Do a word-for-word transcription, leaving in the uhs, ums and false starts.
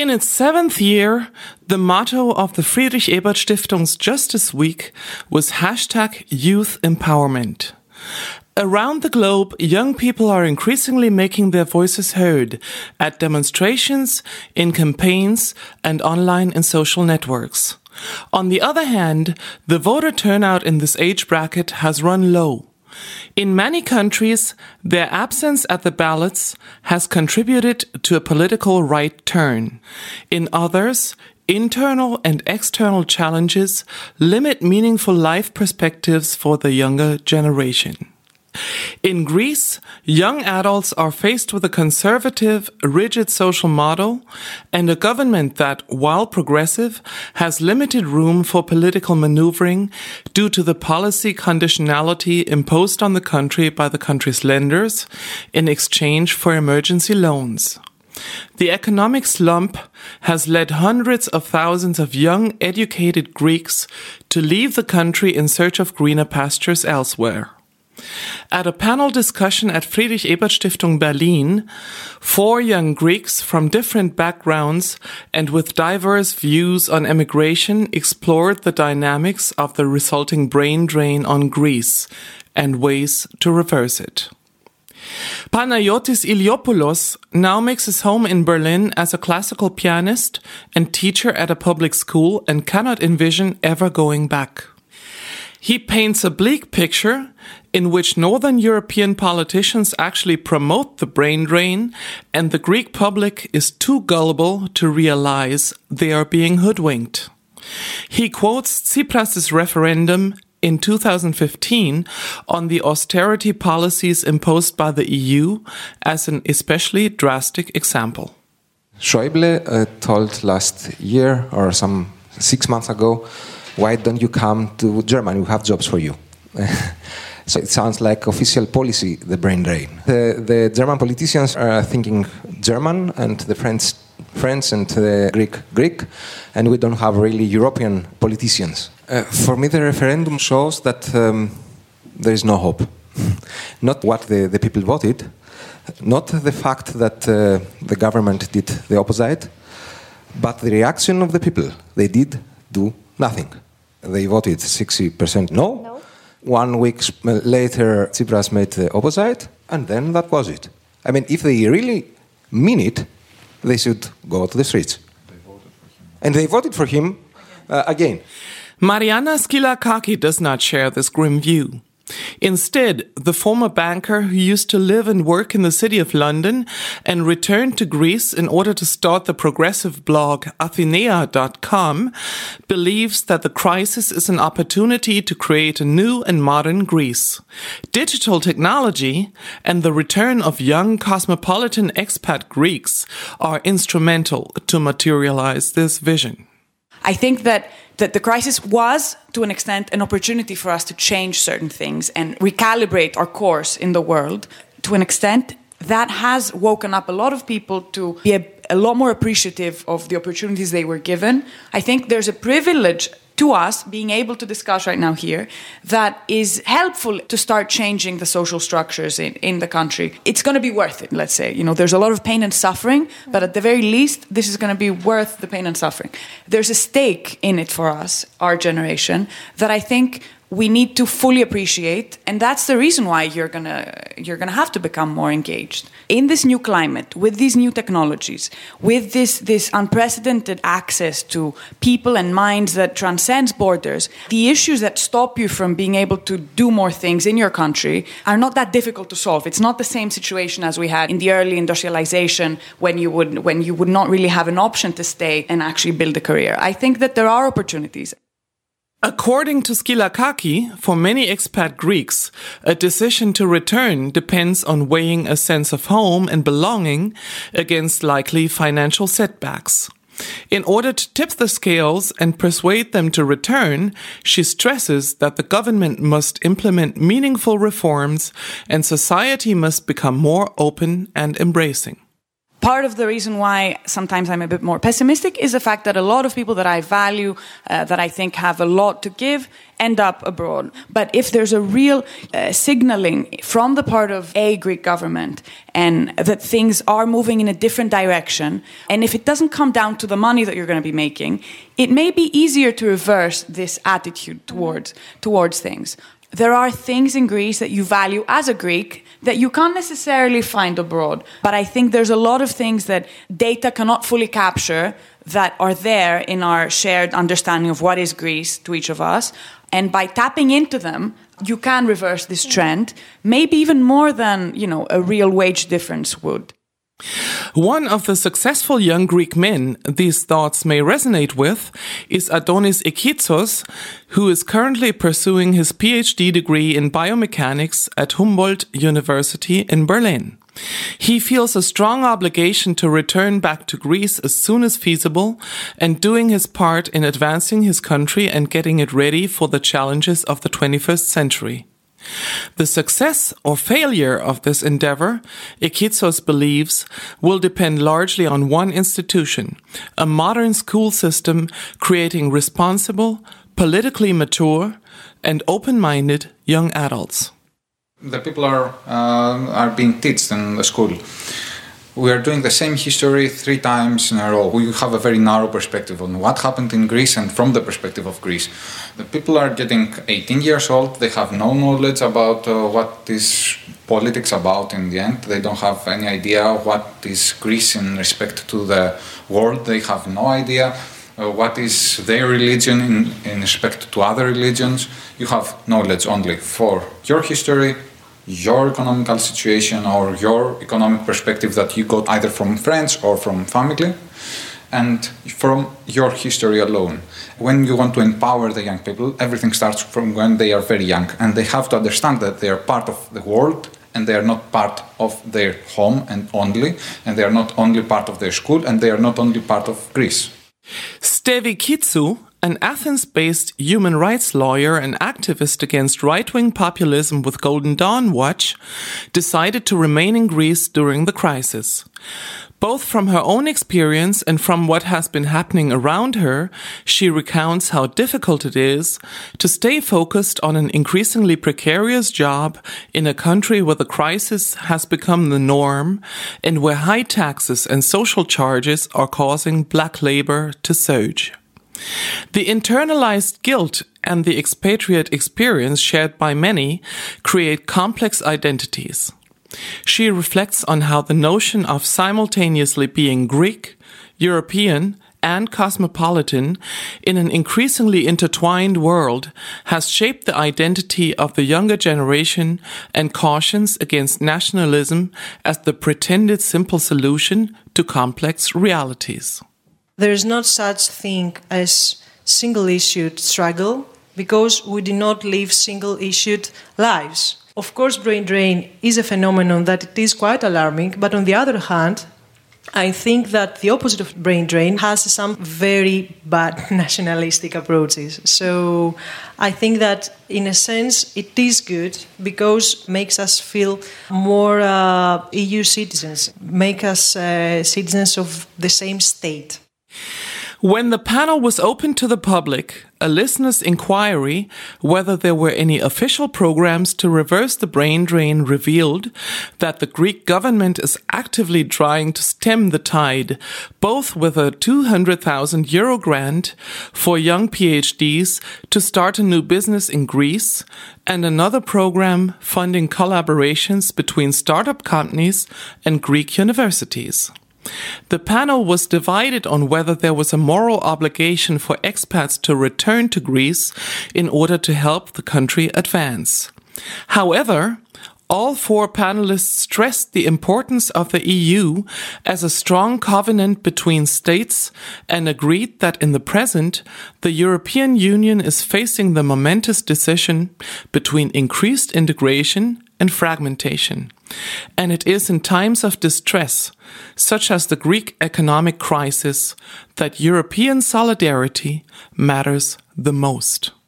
In its seventh year, the motto of the Friedrich Ebert Stiftung's Justice Week was hashtag Youth Empowerment. Around the globe, young people are increasingly making their voices heard at demonstrations, in campaigns, and online in social networks. On the other hand, the voter turnout in this age bracket has run low. In many countries, their absence at the ballots has contributed to a political right turn. In others, internal and external challenges limit meaningful life perspectives for the younger generation. In Greece, young adults are faced with a conservative, rigid social model and a government that, while progressive, has limited room for political maneuvering due to the policy conditionality imposed on the country by the country's lenders in exchange for emergency loans. The economic slump has led hundreds of thousands of young, educated Greeks to leave the country in search of greener pastures elsewhere. At a panel discussion at Friedrich Ebert Stiftung Berlin, four young Greeks from different backgrounds and with diverse views on emigration explored the dynamics of the resulting brain drain on Greece and ways to reverse it. Panayotis Iliopoulos now makes his home in Berlin as a classical pianist and teacher at a public school and cannot envision ever going back. He paints a bleak picture in which Northern European politicians actually promote the brain drain and the Greek public is too gullible to realize they are being hoodwinked. He quotes Tsipras' referendum in two thousand fifteen on the austerity policies imposed by the E U as an especially drastic example. Schäuble uh, told last year or some six months ago, why don't you come to Germany? We have jobs for you. So it sounds like official policy, the brain drain. The, the German politicians are thinking German and the French, French and the Greek, Greek, and we don't have really European politicians. Uh, for me, the referendum shows that um, there is no hope. Not what the, the people voted, not the fact that uh, the government did the opposite, but the reaction of the people. They did do nothing. They voted sixty percent no. no. One week later, Tsipras made the opposite, and then that was it. I mean, if they really mean it, they should go to the streets. They voted for him. And they voted for him uh, again. Mariana Skylakaki does not share this grim view. Instead, the former banker who used to live and work in the city of London and returned to Greece in order to start the progressive blog Athenea dot com believes that the crisis is an opportunity to create a new and modern Greece. Digital technology and the return of young cosmopolitan expat Greeks are instrumental to materialize this vision. I think that, that the crisis was, to an extent, an opportunity for us to change certain things and recalibrate our course in the world. To an extent, that has woken up a lot of people to be a, a lot more appreciative of the opportunities they were given. I think there's a privilege to us being able to discuss right now here that is helpful to start changing the social structures in, in the country. It's going to be worth it, let's say. You know, there's a lot of pain and suffering, but at the very least, this is going to be worth the pain and suffering. There's a stake in it for us, our generation, that I think we need to fully appreciate, and that's the reason why you're gonna you're gonna have to become more engaged in this new climate, with these new technologies, with this this unprecedented access to people and minds that transcends borders. The issues that stop you from being able to do more things in your country are not that difficult to solve. It's not the same situation as we had in the early industrialization when you would when you would not really have an option to stay and actually build a career. I think that there are opportunities. According to Skylakaki, for many expat Greeks, a decision to return depends on weighing a sense of home and belonging against likely financial setbacks. In order to tip the scales and persuade them to return, she stresses that the government must implement meaningful reforms and society must become more open and embracing. Part of the reason why sometimes I'm a bit more pessimistic is the fact that a lot of people that I value, uh, that I think have a lot to give, end up abroad. But if there's a real uh, signaling from the part of a Greek government and that things are moving in a different direction, and if it doesn't come down to the money that you're going to be making, it may be easier to reverse this attitude towards, towards things. There are things in Greece that you value as a Greek that you can't necessarily find abroad. But I think there's a lot of things that data cannot fully capture that are there in our shared understanding of what is Greece to each of us. And by tapping into them, you can reverse this trend, maybe even more than, you know, a real wage difference would. One of the successful young Greek men these thoughts may resonate with is Adonis Ekitsos, who is currently pursuing his PhD degree in biomechanics at Humboldt University in Berlin. He feels a strong obligation to return back to Greece as soon as feasible and doing his part in advancing his country and getting it ready for the challenges of the twenty-first century. The success or failure of this endeavor, Ekitsos believes, will depend largely on one institution, a modern school system creating responsible, politically mature, and open-minded young adults. The people are uh, are being taught in the school. We are doing the same history three times in a row. We have a very narrow perspective on what happened in Greece and from the perspective of Greece. The people are getting eighteen years old. They have no knowledge about uh, what is politics about in the end. They don't have any idea what is Greece in respect to the world. They have no idea uh, what is their religion in, in respect to other religions. You have knowledge only for your history, your economical situation or your economic perspective that you got either from friends or from family and from your history alone. When you want to empower the young people, everything starts from when they are very young and they have to understand that they are part of the world and they are not part of their home and only, and they are not only part of their school and they are not only part of Greece. Stevi Kitsou, an Athens-based human rights lawyer and activist against right-wing populism with Golden Dawn Watch, decided to remain in Greece during the crisis. Both from her own experience and from what has been happening around her, she recounts how difficult it is to stay focused on an increasingly precarious job in a country where the crisis has become the norm and where high taxes and social charges are causing black labor to surge. The internalized guilt and the expatriate experience shared by many create complex identities. She reflects on how the notion of simultaneously being Greek, European, and cosmopolitan in an increasingly intertwined world has shaped the identity of the younger generation and cautions against nationalism as the pretended simple solution to complex realities. There is not such thing as single-issued struggle because we do not live single-issued lives. Of course, brain drain is a phenomenon that it is quite alarming, but on the other hand, I think that the opposite of brain drain has some very bad nationalistic approaches. So I think that in a sense it is good because it makes us feel more uh, E U citizens, make us uh, citizens of the same state. When the panel was open to the public, a listener's inquiry whether there were any official programs to reverse the brain drain revealed that the Greek government is actively trying to stem the tide, both with a two hundred thousand euro grant for young PhDs to start a new business in Greece and another program funding collaborations between startup companies and Greek universities. The panel was divided on whether there was a moral obligation for expats to return to Greece in order to help the country advance. However, all four panelists stressed the importance of the E U as a strong covenant between states and agreed that in the present, the European Union is facing the momentous decision between increased integration and fragmentation. And it is in times of distress, such as the Greek economic crisis, that European solidarity matters the most.